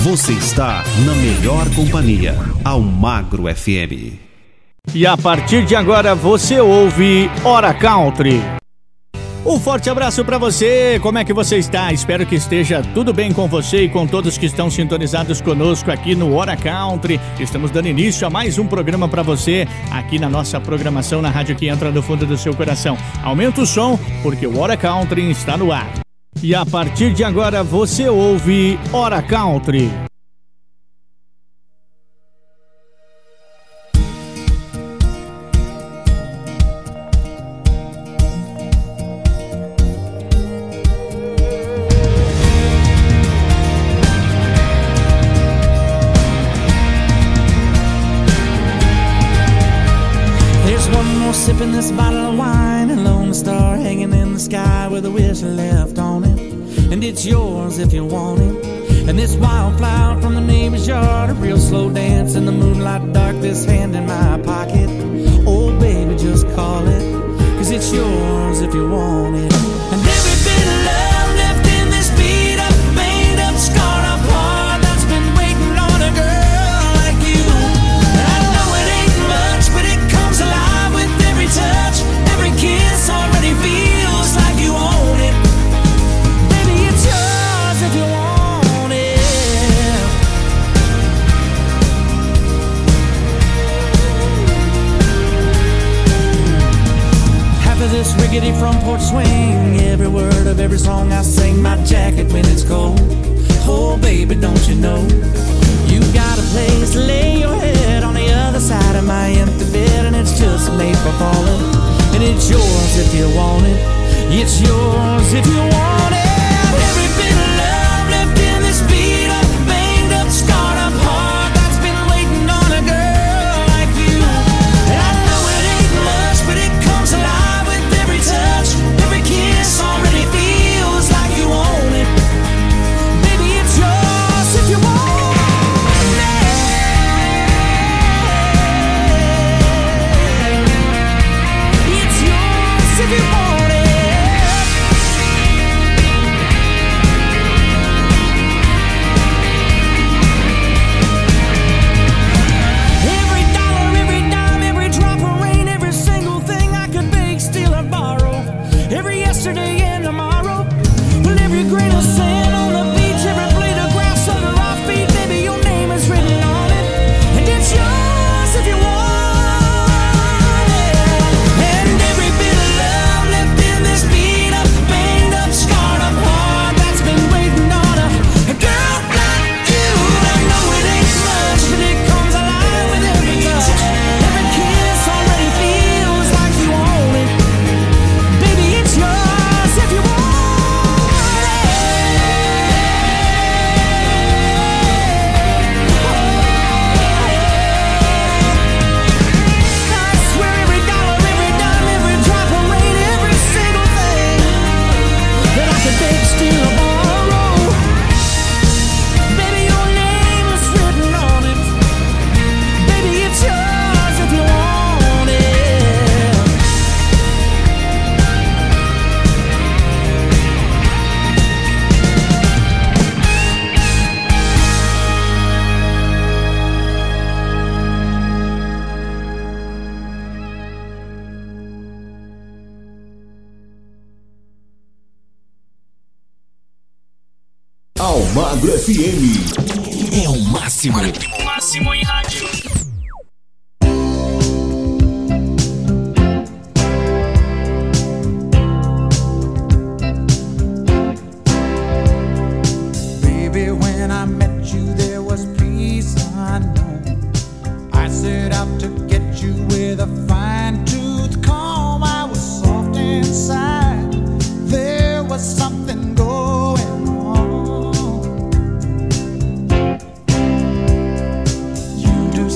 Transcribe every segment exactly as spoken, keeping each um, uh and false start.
Você está na melhor companhia, Almagro F M. E a partir de agora você ouve Hora Country. Um forte abraço para você, como é que você está? Espero que esteja tudo bem com você e com todos que estão sintonizados conosco aqui no Hora Country. Estamos dando início a mais um programa para você aqui na nossa programação na rádio que entra no fundo do seu coração. Aumenta o som porque o Hora Country está no ar. E a partir de agora você ouve Hora Country. Sipping this bottle of wine, a lone star hanging in the sky with a whistle left on it. And it's yours if you want it. And this wildflower from the neighbor's yard, a real slow dance in the moonlight dark, this hand in my pocket. Oh baby, just call it, cause it's yours if you want it. And every bit of love left in this beat up, made up, scarred up heart that's been waiting on a girl like you. And I know it ain't much, but it comes alive with every touch, every kiss already feels like you own it. Baby, it's yours if you want it. Half of this rickety front porch swing, every word of every song I sing, my jacket when it's cold. Oh baby, don't you know you got a place to lay your head on the other side of my empty bed, and it's just made for falling. And it's yours if you want it. It's yours if you want it. Every bit of love left in this beat up, banged up, scarred up heart that's been waiting on a girl like you. And I know it ain't much, but it comes alive with every touch, every kiss already feels like you own it. Baby, it's yours if you want it. If you want it. Every dollar, every dime, every drop of rain, every single thing I could beg, steal or borrow, every yesterday and tomorrow, well, every grain of sand on the beach, every blade of grass under our feet, baby, your name is written on it, and it's yours if you want. Almagro F M é o máximo. O máximo em rádio. Baby, when I met you, there was peace unknown. I set out to get you with a fine-tooth comb. I was soft inside. There was something going on. You do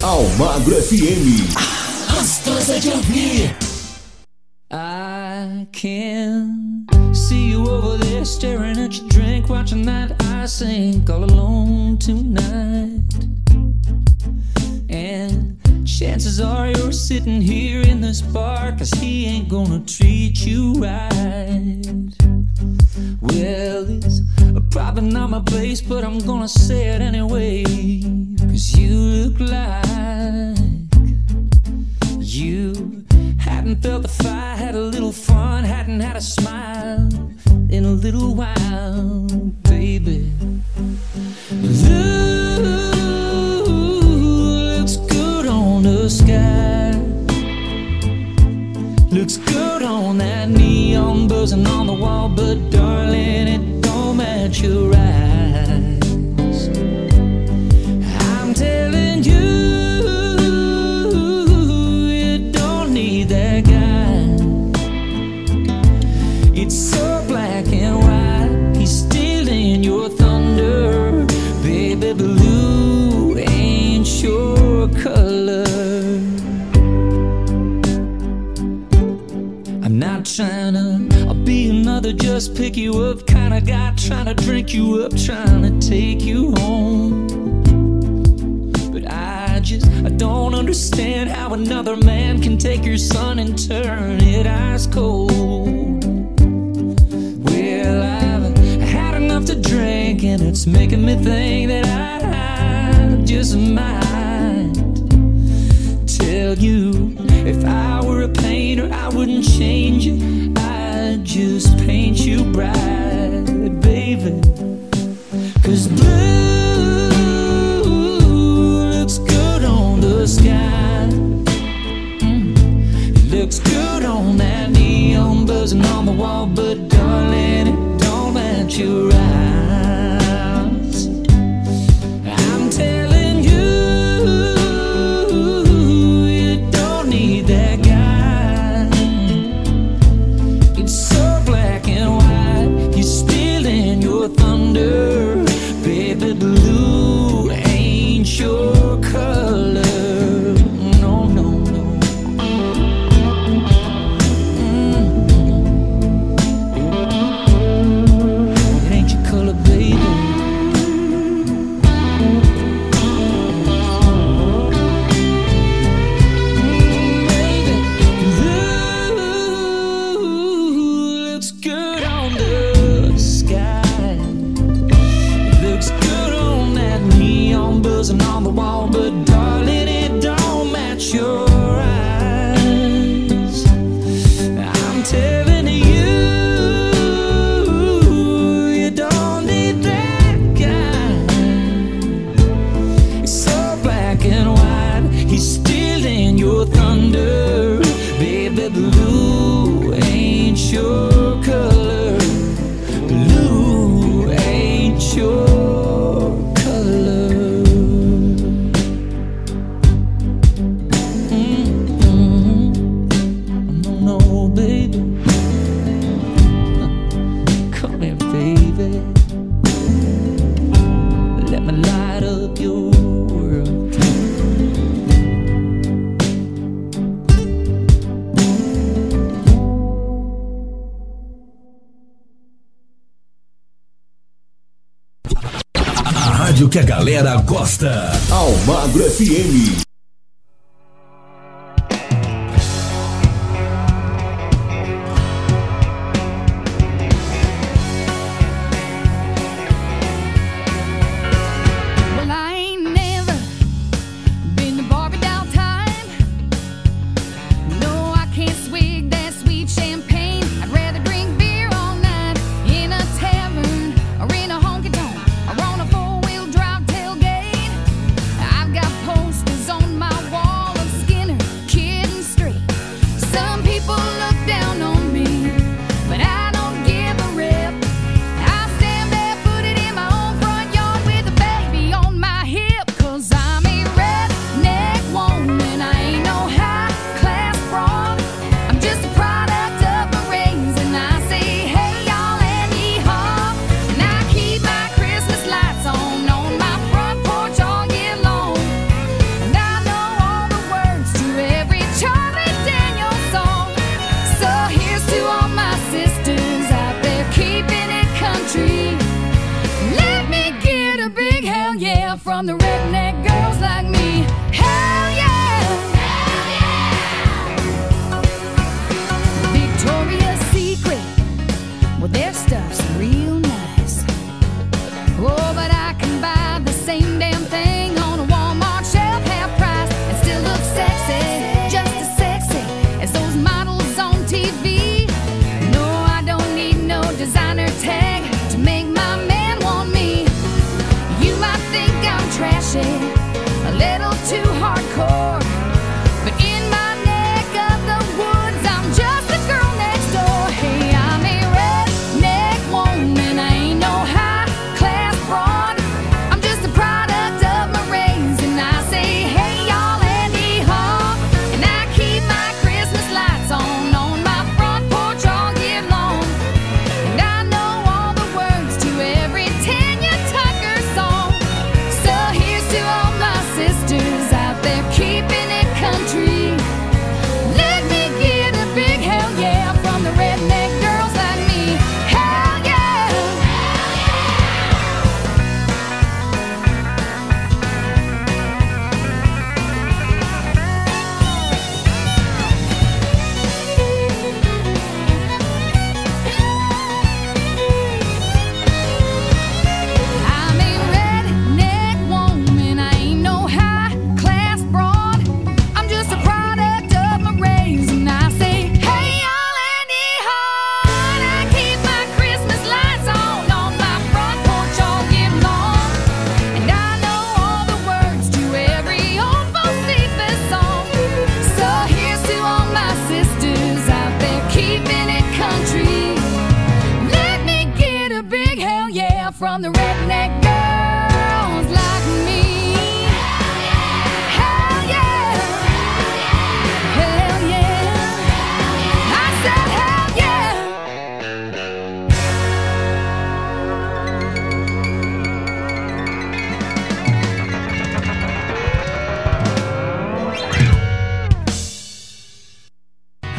Almagro F M. Gostosa de ouvir. I can see you over there staring at your drink, watching that I sink all alone tonight. And chances are you're sitting here in this bar, 'cause he ain't gonna treat you right. Well, it's probably not my place, but I'm gonna say it anyway, 'cause you look like you hadn't felt the fire, had a little fun, hadn't had a smile in a little while, baby. Looks good on the sky, looks good on that neon buzzing on the wall, but darling, it don't match your eyes. I'm telling you, it's so black and white, he's stealing your thunder. Baby, blue ain't your color. I'm not trying to I'll be another just pick you up kind of guy, trying to drink you up, trying to take you home. But I just, I don't understand how another man can take your sun and turn it ice cold. Well, I've had enough to drink, and it's making me think that I just might tell you, if I were a painter, I wouldn't change it, I'd just paint you bright, baby. 'Cause blue looks good on the sky, mm. It looks good on that neon buzzing on the wall, but darling, it don't match your eyes. I'm telling you, you don't need that guy. It's so black and white, he's stealing your thunder. Baby, blue ain't your color. No, no, no. It ain't your color, baby. Baby, blue looks good on the sky, looks good on that neon buzzing on the wall, but darling, it don't match your eyes. I'm telling you, you don't need that guy. It's so black and white, he's stealing your thunder. Baby, blue ain't your color. Blue ain't your color. Mm-hmm. No, no, baby. Come here, baby. Let me light up your world. A rádio que a galera gosta. Almagro F M. Well, I ain't never been to Barbie doll time. No, I can't swig that sweet champagne. I'd rather drink beer all night in a tavern or in a honky tonk or on a four-wheel drive tailgate. I've got posters on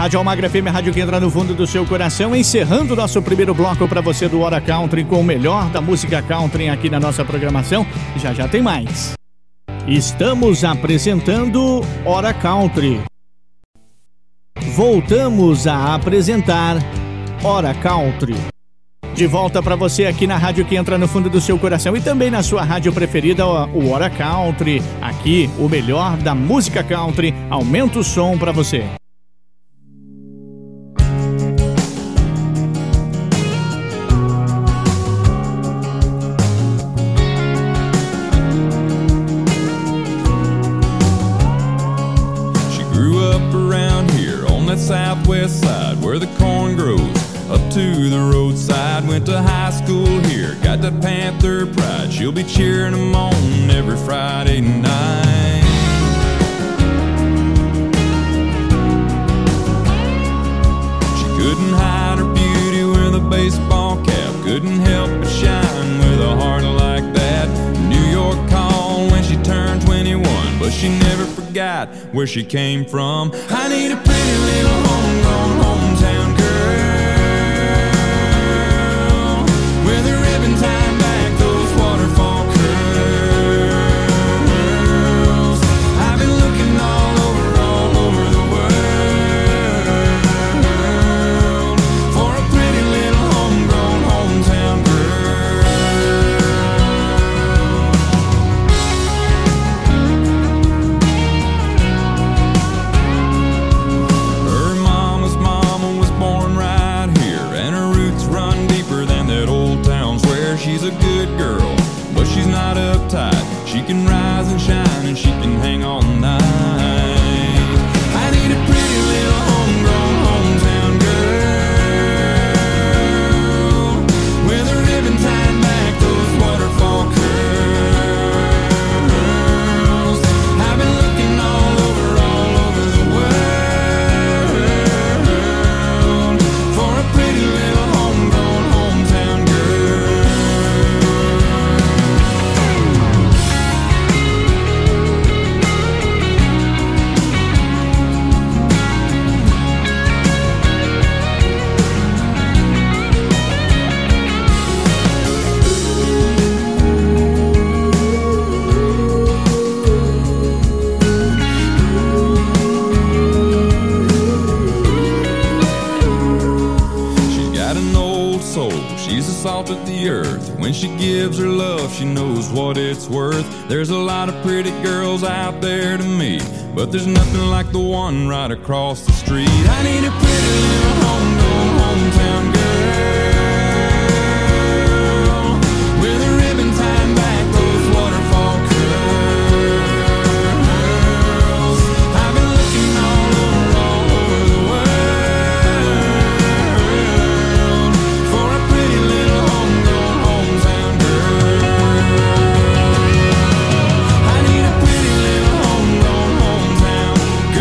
Rádio Almagro F M, a rádio que entra no fundo do seu coração, encerrando o nosso primeiro bloco para você do Hora Country com o melhor da música country aqui na nossa programação. Já já tem mais. Estamos apresentando Hora Country. Voltamos a apresentar Hora Country. De volta para você aqui na rádio que entra no fundo do seu coração e também na sua rádio preferida, o Hora Country. Aqui, o melhor da música country. Aumenta o som para você. She grew up around here on that southwest side where the corn grows up to the roadside. Went to high school here, got that Panther pride. She'll be cheering them on every Friday night. She couldn't hide her beauty with a baseball cap, couldn't help but shine with a heart like that. New York called when she turned twenty-one, but she never forgot where she came from. I need a pretty little homegrown hometown girl with a ribbon tied back those waterfall curls. I've been looking all over, all over the world for a pretty little homegrown hometown girl. Her mama's mama was born right here, and her roots run deeper than that old town square. She's a good girl, but she's not uptight. She can rise and shine, and she can hang all night. I need a pretty little homegrown hometown girl with a ribbon tied back those waterfall curls. I've been looking all over, all over the world for a pretty little homegrown hometown girl. She's got an old soul, she's the salt of the earth. When she gives her love, she knows what it's worth. There's a lot of pretty girls out there to meet, but there's nothing like the one right across the street. I need a pretty little homegrown hometown girl with a ribbon tied back those waterfall curls. I've been looking all over, all over the world for a pretty little homegrown hometown girl. I need a pretty little homegrown hometown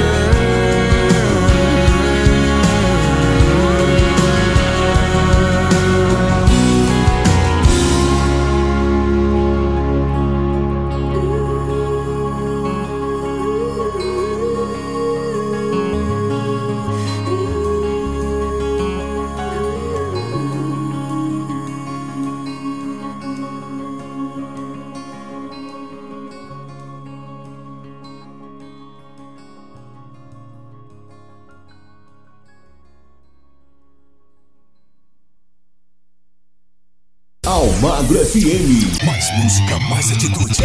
Almagro F M. Mais música, mais atitude.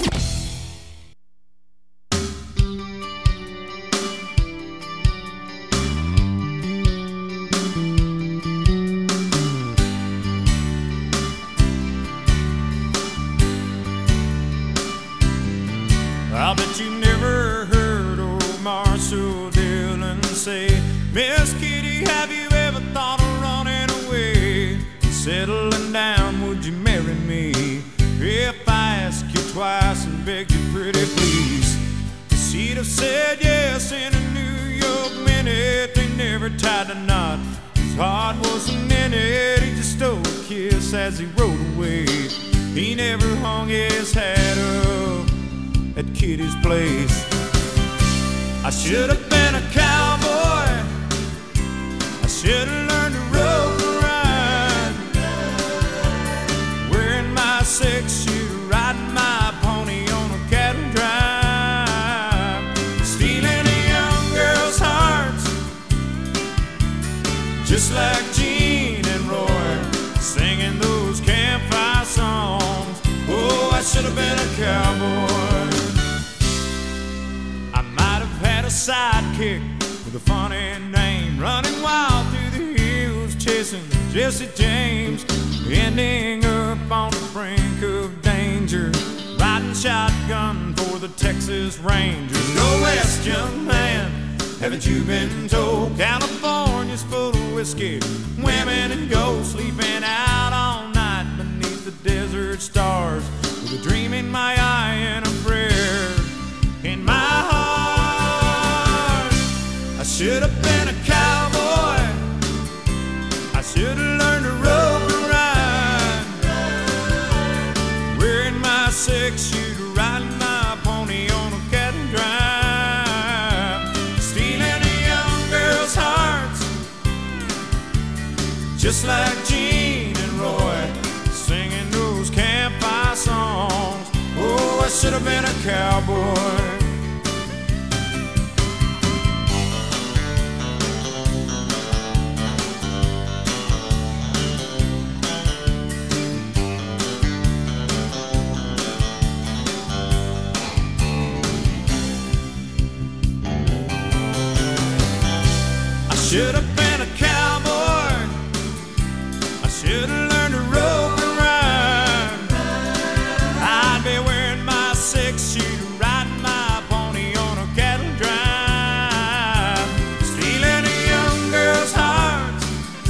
I bet you never heard old Marshall Dillon say, Miss Kitty, have you ever thought of running away? Settling down, would you marry me? If I ask you twice and beg you pretty please. She'd have said yes in a New York minute. They never tied a knot, his heart wasn't in it. He just stole a kiss as he rode away. He never hung his hat up at Kitty's place. I should have been a cowboy just like Gene and Roy, singing those campfire songs. Oh, I should have been a cowboy. I might have had a sidekick with a funny name, running wild through the hills, chasing Jesse James, ending up on the brink of danger, riding shotgun for the Texas Rangers. Go west, young man, haven't you been told? California's full of whiskey, women and ghosts, sleeping out all night beneath the desert stars, with a dream in my eye and a prayer in my heart. I should have been a cowboy, I should have learned to rope and ride, wearing my six-shooter, riding my pony on a cattle drive, stealing a young girl's hearts, just like Gene and Roy, singing those campfire songs. Oh, I should have been a cowboy. Should have been a cowboy, I should have learned to rope and ride, I'd be wearing my six-shooter, riding my pony on a cattle drive, stealing a young girl's heart,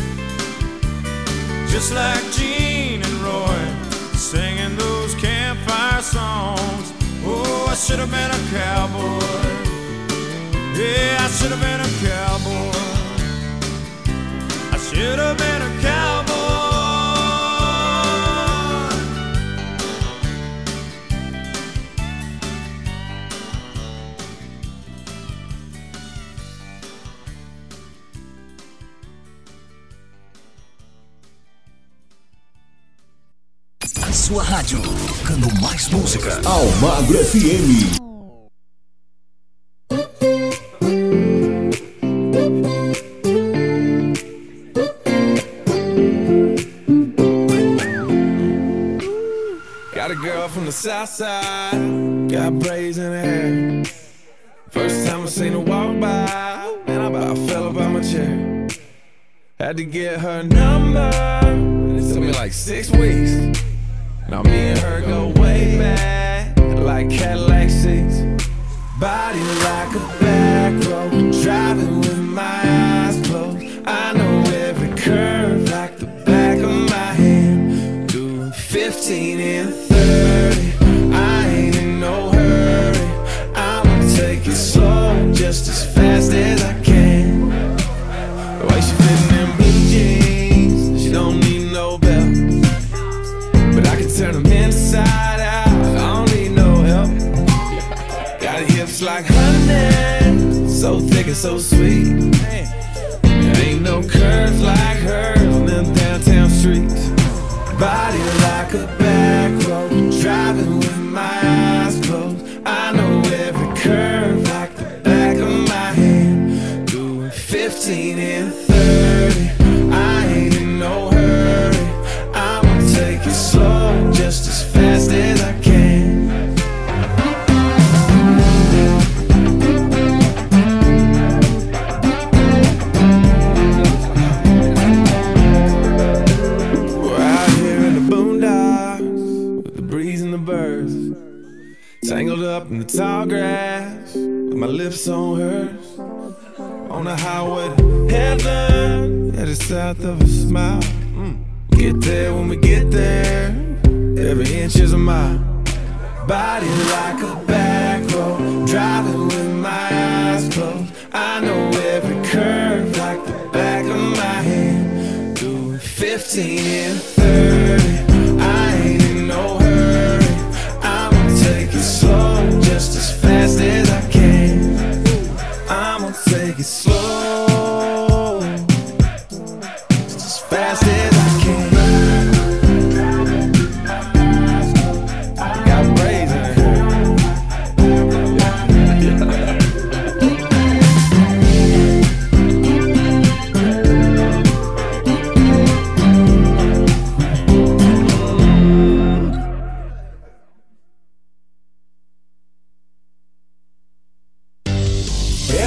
just like Gene and Roy, singing those campfire songs. Oh, I should have been a cowboy, yeah, I should have been a cowboy. Should have been a cowboy. A sua rádio, tocando mais música. Almagro F M. Got a girl from the south side, got braids in her hair. First time I seen her walk by, man, I about fell up out my chair. Had to get her number, it took me like six weeks. Now me and her go way back, like Cadillac seats. Body like a back road, driving with my eyes closed. I know every curve like the back of my hand. Doing fifteen and thirty, I ain't in no hurry. I'ma take it slow, just as fast as I can. The way she fitting in blue jeans, she don't need no belt, but I can turn them inside out, I don't need no help. Got hips like honey, so thick and so sweet. There ain't no curves like hers on them downtown streets. Body like a back road, driving with my eyes closed. I know every curve like the back of my hand. Doing fifteen and thirty, I ain't in no hurry. I'ma take it slow, just as fast as I can. Tangled up in the tall grass, with my lips on hers. On the highway to heaven, headed south of a smile. Mm. Get there when we get there, every inch is a mile. Body like a back road, driving with my eyes closed. I know every curve like the back of my hand. Doing fifteen and thirty, I ain't in no hurry. I'ma take it slow, just as fast as I can. I'ma take it slow, just as fast as I can. Got braids in her hair.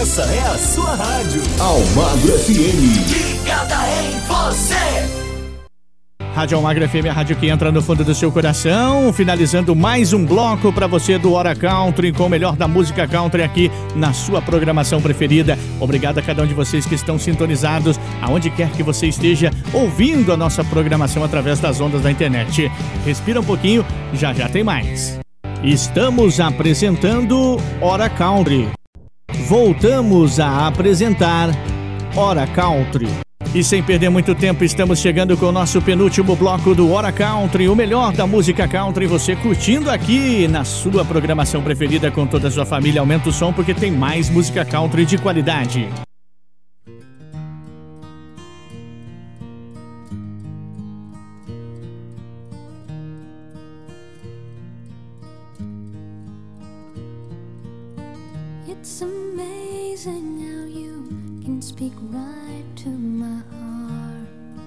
Essa é a sua rádio. Almagro F M. Ligada em você. Rádio Almagro F M, a rádio que entra no fundo do seu coração, finalizando mais um bloco para você do Hora Country, com o melhor da música country aqui na sua programação preferida. Obrigado a cada um de vocês que estão sintonizados, aonde quer que você esteja ouvindo a nossa programação através das ondas da internet. Respira um pouquinho, já já tem mais. Estamos apresentando Hora Country. Voltamos a apresentar Hora Country. E sem perder muito tempo, estamos chegando com o nosso penúltimo bloco do Hora Country, o melhor da música country, você curtindo aqui na sua programação preferida com toda a sua família. Aumenta o som porque tem mais música country de qualidade. It's amazing how you can speak right to my heart.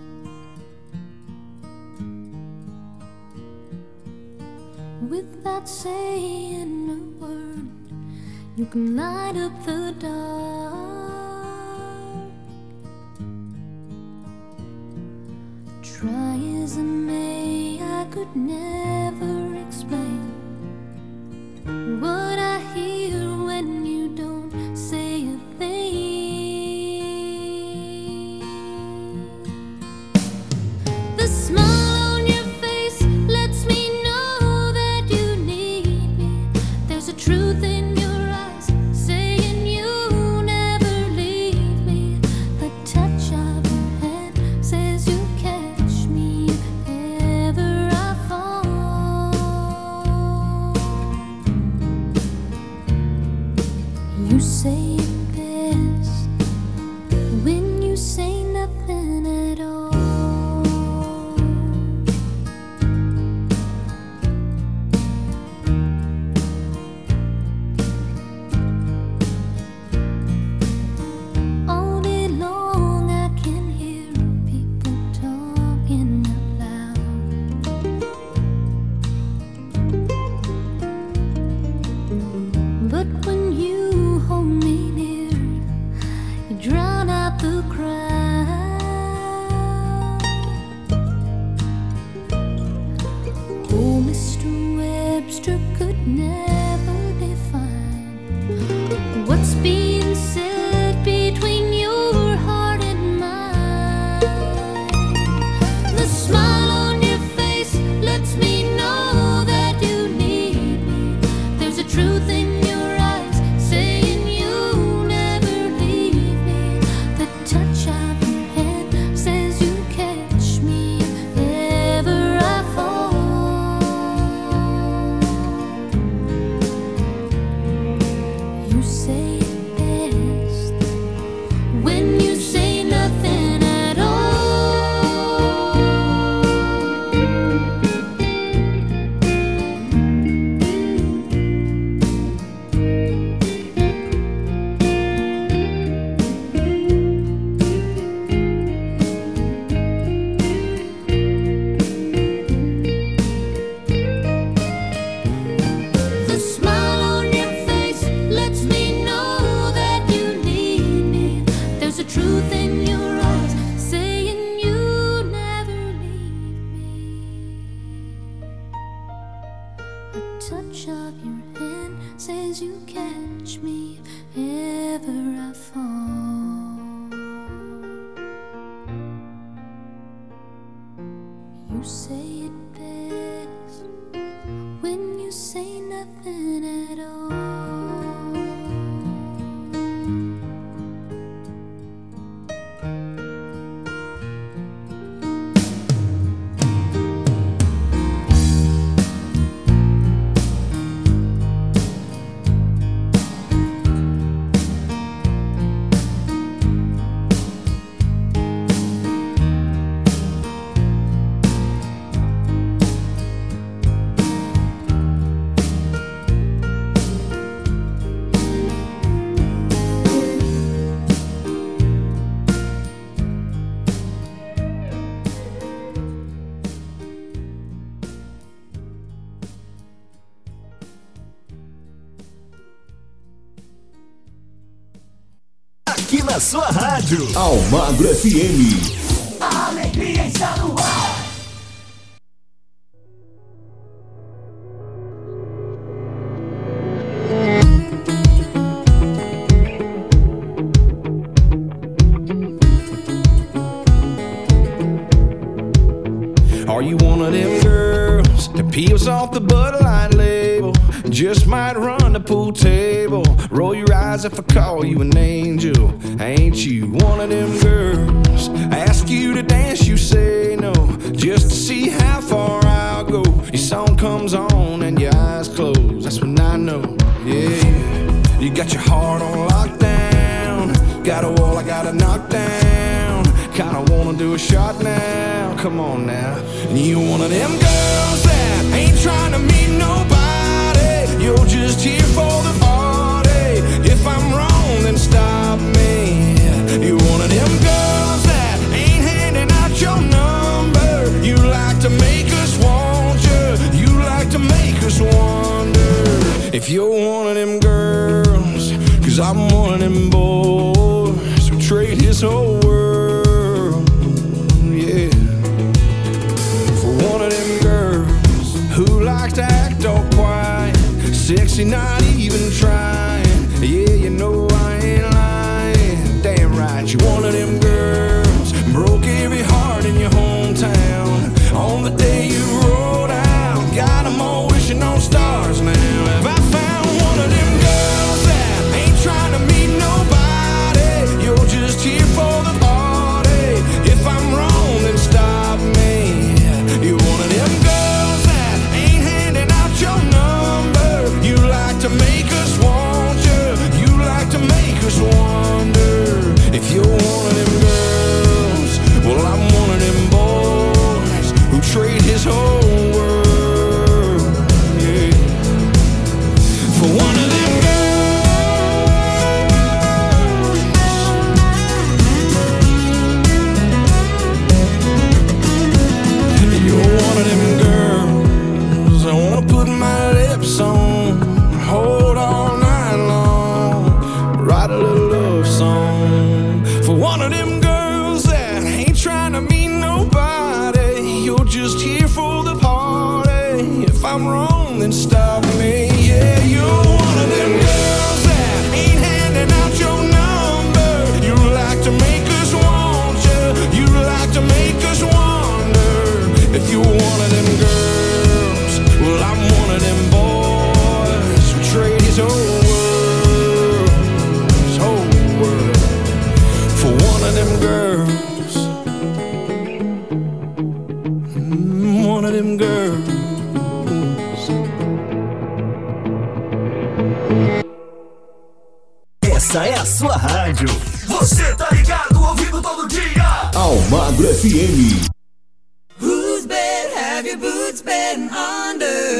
Without saying a word, you can light up the dark. Try as I may, I could never explain what I hear when you don't say a thing. The smile on your face lets me know that you need me. There's a truth in your eyes saying you'll never leave me. The touch of your hand says you'll catch me if ever I fall. You say it best when you say nothing at all. All day long I can hear people talking out loud, but when you hold me near, aqui na sua rádio. Almagro F M. A alegria está no ar. Are you one of them girls that peels off the Bud Light label? Just might run the pool table. Roll your eyes if I call you an angel. Ain't you one of them girls? I ask you to dance, you say no, just to see how far I'll go. Your song comes on and your eyes close. That's when I know, yeah. You got your heart on lockdown. Got a wall I gotta knock down. Kinda wanna do a shot now. Come on now. And you one of them girls that ain't trying to meet nobody. You're just here for the party. If I'm wrong, then stop me. You one of them girls that ain't handing out your number. You like to make us want you. You like to make us wonder if you're one of them girls. Cause I'm one of them boys who trade his whole world, yeah, for one of them girls who likes to act all quiet, sexy, not even trying. Yeah, you know I ain't lying. Damn right, you one of them girls broke every heart in your hometown on the day you rolled out. Got them all wishing on stars now. Have I found one of them girls that ain't trying to meet nobody? You're just here for the party. If I'm wrong, then stop me. You're one of them girls that ain't handing out your number. You like to make us want you. You like to make us wonder if you're one of them girls. Well, I'm one of them boys who trade his whole world, yeah, for one of them girls. You're one of them girls I wanna put my lips on, hold all night long, write a little love song for one of them girls that ain't trying to meet nobody. You're just here for the party. If I'm wrong, then stop me. Yeah, you're one of them girls that ain't handing out your number. You like to make us want you. You like to make us wonder if you're one of them girls. Well, I'm one of them boys who trade his whole world, his whole world, for one of them girls. Mm, one of them girls. Essa é a sua rádio. Você tá ligado, ouvindo todo dia. Almagro F M. Whose bed have your boots been under?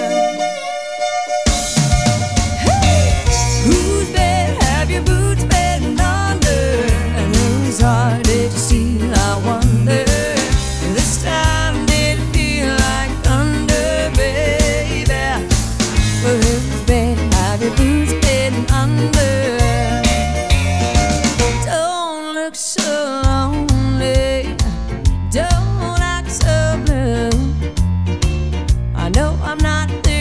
Whose bed have your boots been under? And whose heart did you steal, I wonder? This time did it feel like thunder, baby? Well, whose bed have your boots been under? Don't look so lonely, don't act so blue. I know I'm not the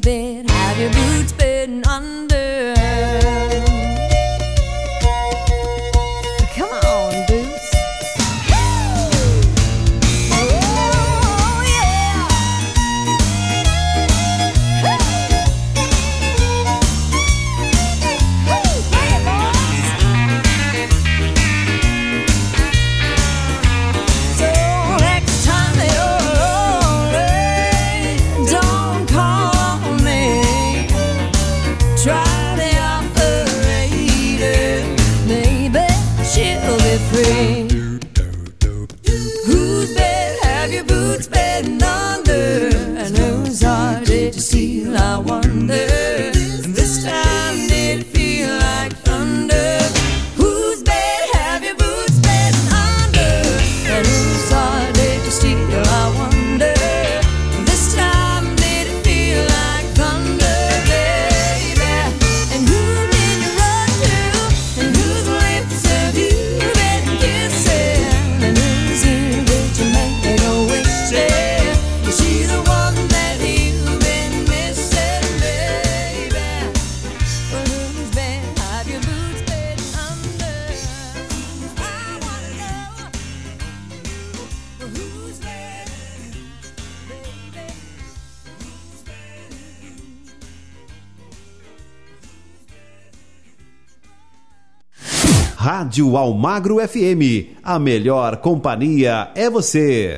bed have your boots been under? Come on, boots. Oh, yeah. Hey, boys. So next time you're lonely, don't call me. Try the operator, maybe she'll be free. Whose bed have your boots been under? And whose heart did you steal, I wonder? And this time did it feel like thunder? Whose bed have your boots been under? And whose heart did you steal, I wonder? And this time did it feel like thunder, baby? And who did you run to? And whose lips have you been kissing? And whose ear did you make a wish in? Is she the one that you've been missing, baby? But whose bed have your boots been under? I wanna know. But whose bed, baby? Whose bed? Rádio Almagro F M. A melhor companhia é você.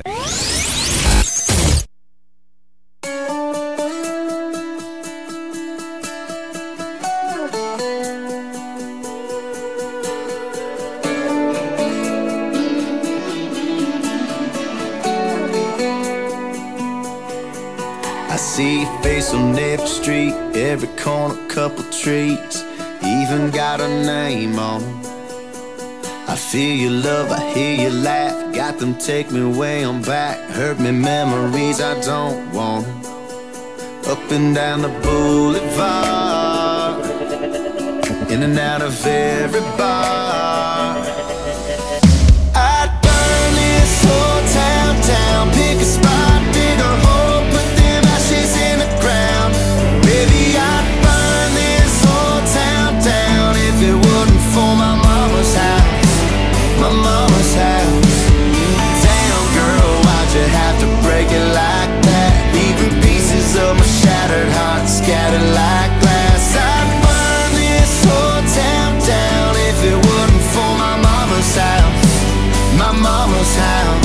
I see your face on every street, every corner, couple trees, even got a name on 'em. I feel your love, I hear you laugh, got them take me way on back, hurt me memories I don't want 'em. Up and down the boulevard, in and out of every bar. I'd burn this whole town down, pick a spot, dig a hole, put them ashes in the ground. Baby, I'd burn this whole town down if it wasn't for my mama's house, my mama's house. Damn girl, why'd you have to break it like that? Leaving pieces of my shattered heart scattered like glass. I'd burn this whole town down if it wasn't for my mama's house, my mama's house.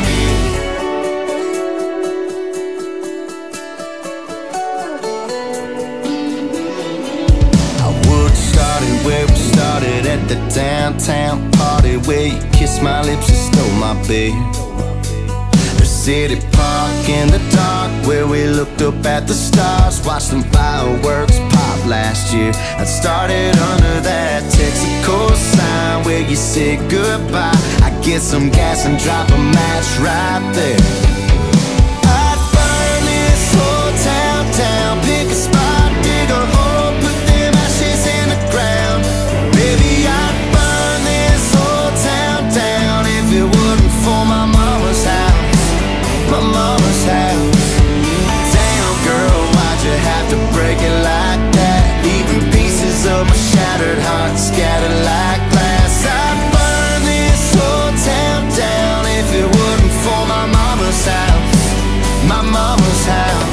I would started where we started at the downtown party where you kissed my lips and stole my beer. The city park in the dark where we looked up at the stars, watched them fireworks pop last year. I started under that Texaco sign where you said goodbye. I get some gas and drop a match right there. I'd burn this whole town down, pick a spot, dig a hole, put them ashes in the ground. Baby, I'd burn this whole town down if it wasn't for my mama's house, my mama's house. Damn girl, why'd you have to break it like that? Leaving pieces of my shattered heart scattered like glass. I'd burn this whole town down if it wasn't for my mama's house, my mama's house.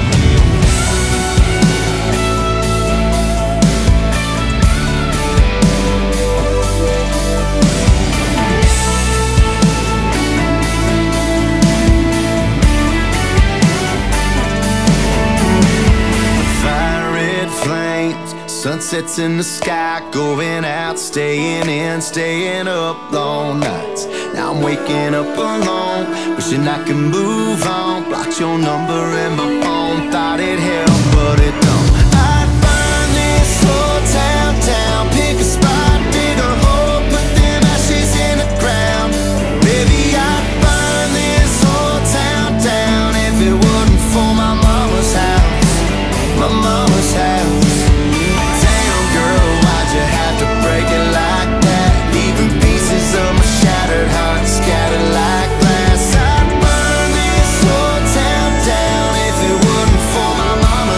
Fire red flames, sunsets in the sky, going out, staying in, staying up long nights. Now I'm waking up alone, wishing I could move on. Blocked your number in my phone, thought it helped, but it don't. I'd burn this whole town down, pick a spot, dig a hole, put them ashes in the ground. Baby, I'd burn this whole town down if it wasn't for my mama's house, my mama's house. Damn girl, why'd you have to break it like that? Leaving pieces of my shattered heart scattered like glass. I'd burn this whole town down if it wasn't for my mama.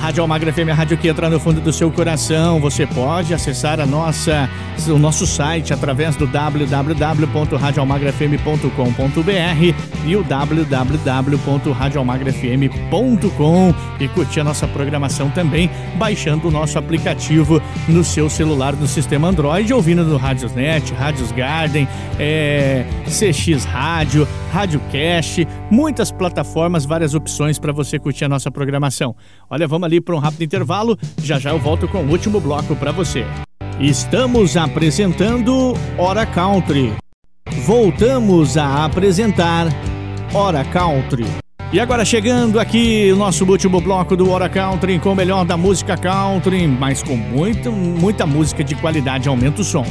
Rádio Almagro F M, a rádio que entra no fundo do seu coração. Você pode acessar a nossa, o nosso site através do w w w ponto rádio almagro f m ponto com ponto b r e o w w w ponto rádio almagro f m ponto com e curtir a nossa programação também, baixando o nosso aplicativo no seu celular, no sistema Android, ouvindo no Radiosnet, Rádios Garden, é, C X Rádio, Radiocast, muitas plataformas, várias opções para você curtir a nossa programação. Olha, vamos ali para um rápido intervalo, já já eu volto com o último bloco para você. Estamos apresentando Hora Country. Voltamos a apresentar Hora Country. E agora chegando aqui o nosso último bloco do Hora Country com o melhor da música country, mas com muita, muita música de qualidade. Aumenta o som.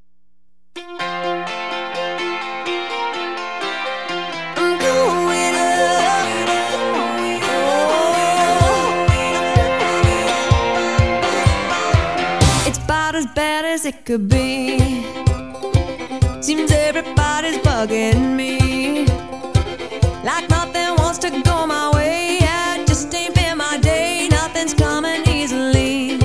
It could be. Seems everybody's bugging me, like nothing wants to go my way. Yeah, it just ain't been my day. Nothing's coming easily.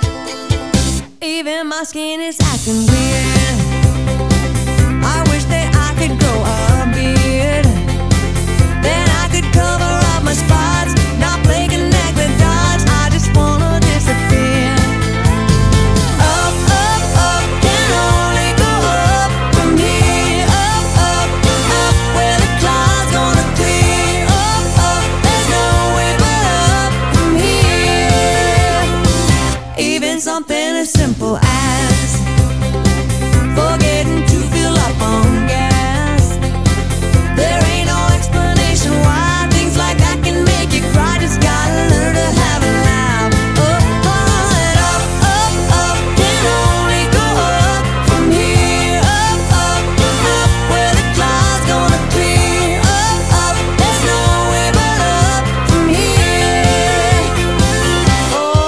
Even my skin is acting weird. I wish that I could grow a beard, then I could cover up my spots, not play connect the dots. I just wanna disappear. Something as simple as forgetting to fill up on gas. There ain't no explanation why things like that can make you cry. Just gotta learn to have a laugh. Up, on, up, up, up, can only go up from here. Up, up, up, where the clouds gonna clear. Up, up, there's no way but up from here. Oh,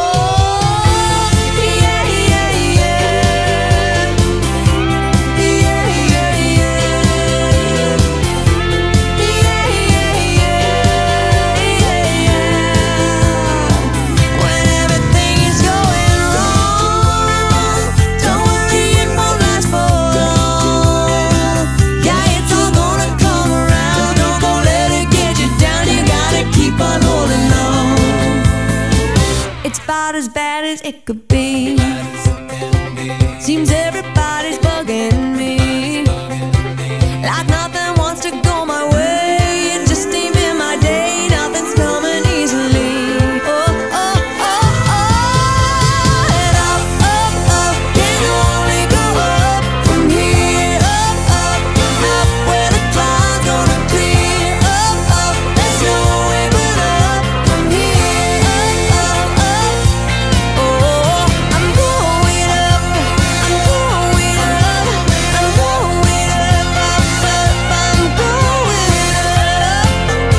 as bad as it could be. Seems everybody's bugging me, like nothing wants to go my way. It just ain't been my day. Nothing's coming easily. Oh, oh, oh, oh. And up, up, up, can only go up from here. Up, up, up, where the clouds gonna clear. Up, up, there's no way but up from here. Up, up, up. Oh, I'm going up, I'm going up, I'm going up, up, up, I'm going up.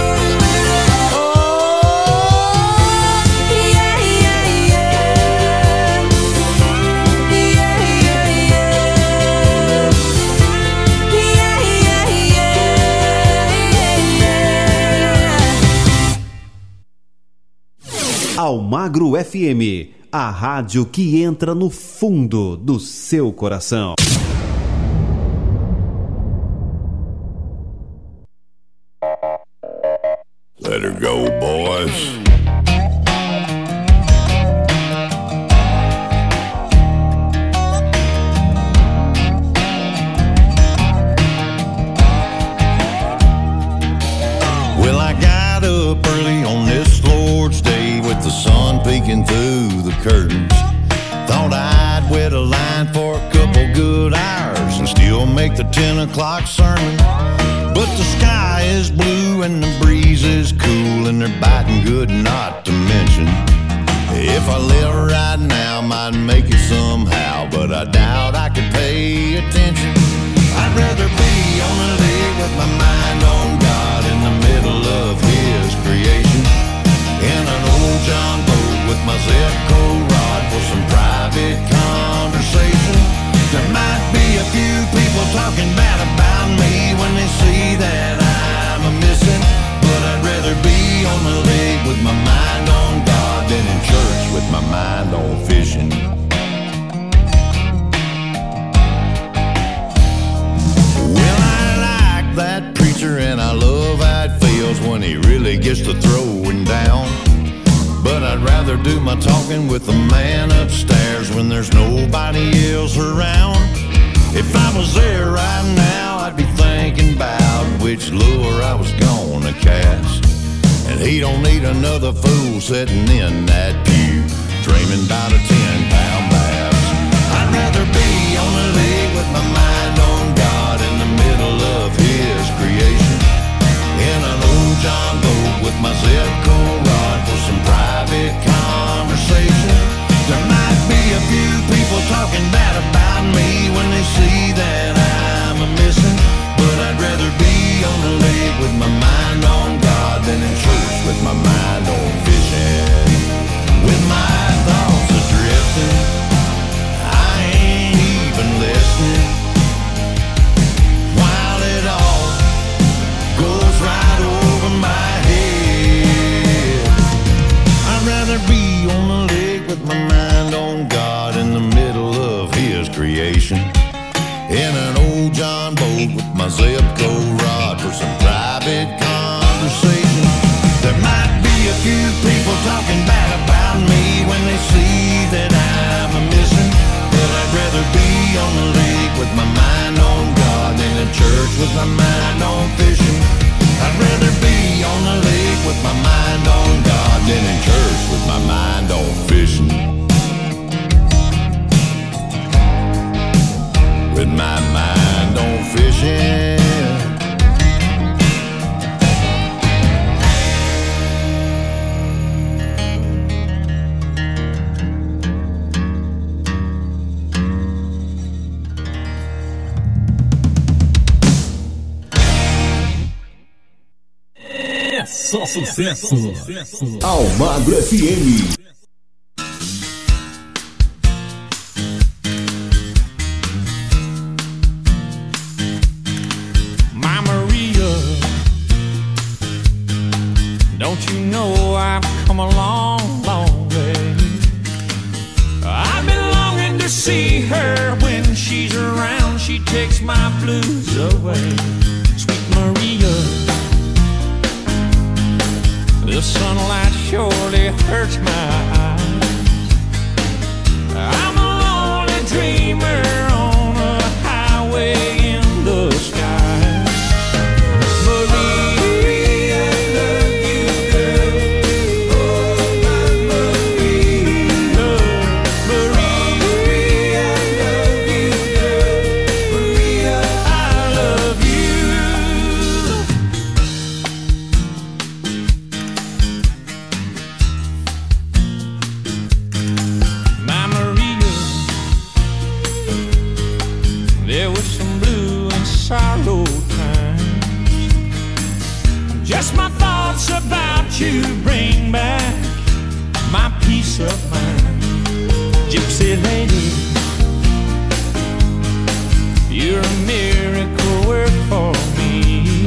Oh, yeah, yeah, yeah, yeah, yeah, yeah, yeah, yeah. Almagro F M, a rádio que entra no fundo do seu coração. Let her go, boys. Well, I got up early on this Lord's Day with the sun peeking through the curtains. Thought I'd wait a line for a couple good hours and still make the ten o'clock sermon. But the sky is blue and the breeze is cool and they're biting good not to mention. If I live right now, might make it somehow, but I doubt I could pay attention. I'd rather be on a lake with my mind on God in the middle of His creation, in an old John boat with my Zepco rod for some private conversation. There might be a few people talking bad about me when they see that I'm a missing, but I'd rather be on the lake with my mind on God than gets to throwing down. But I'd rather do my talking with the man upstairs when there's nobody else around. If I was there right now, I'd be thinking about which lure I was gonna cast. And he don't need another fool sitting in that pew, dreaming about a ten pound bass. I'd rather be on the lake with my mind on God in the middle of his creation, in an old John boat with my Zipco rod for some private conversation. There might be a few people talking bad about me when they see that I'm a missing, but I'd rather be on the lake with my mind on God than in church with my mind on fishing. With my thoughts adrifting, I ain't even listening, while it all goes right over my head. I'd rather be on the lake with my mind on God in the middle of his creation, in an old John boat with my Zipco rod for some private conversation. There might be a few people talking bad about me when they see that I'm a missing, but I'd rather be on the lake with my mind on God than in church with my mind on fishing. I'd rather be on the lake with my mind on God than in church with my mind on fishing. With my mind on fishing. É só sucesso. Almagro F M. My Maria, don't you know I've come a long, long way? I've been longing to see her. When she's around, she takes my blues away. Sweet Maria, the sunlight surely hurts my eyes. I'm a lonely dreamer on a highway in the sky. Maria, I love you, girl. Oh, my Maria. Maria, I love you, girl. Maria, I love you. My Maria, there was some blue and sorrow times. Just my thoughts about you bring back my peace of mind. Gypsy lady, you're a miracle work for me.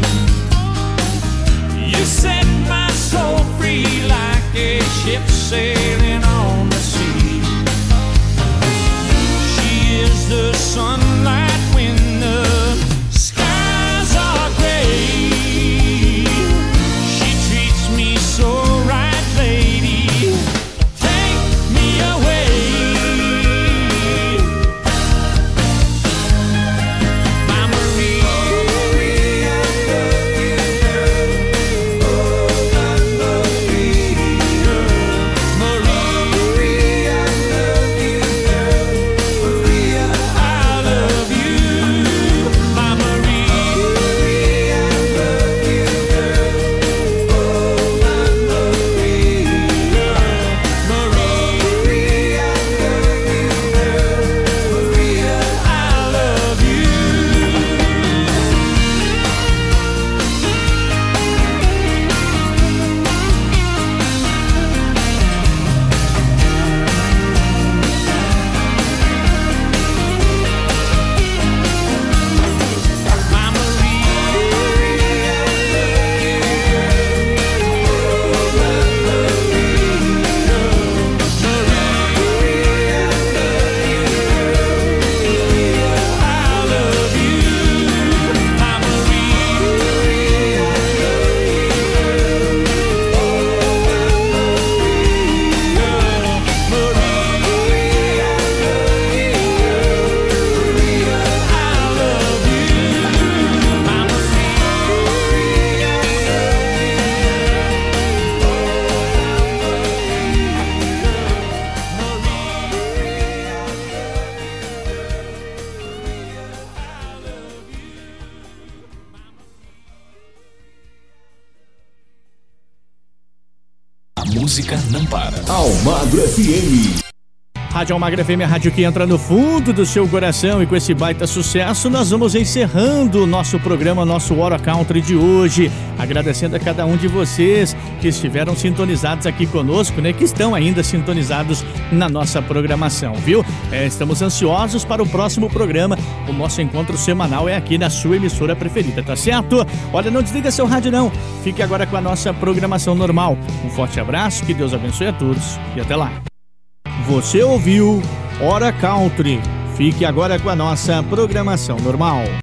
You set my soul free like a ship sailing on the sea. She is the sunlight when the skies are gray. She treats me so right, lady. Take me away. My música não para. Almagro F M. Rádio Almagro F M, a rádio que entra no fundo do seu coração, e com esse baita sucesso nós vamos encerrando o nosso programa, nosso Hora Country de hoje, agradecendo a cada um de vocês que estiveram sintonizados aqui conosco, né, que estão ainda sintonizados na nossa programação, viu? É, estamos ansiosos para o próximo programa, o nosso encontro semanal é aqui na sua emissora preferida, tá certo? Olha, não desliga seu rádio não, fique agora com a nossa programação normal. Um forte abraço, que Deus abençoe a todos e até lá. Você ouviu Hora Country. Fique agora com a nossa programação normal.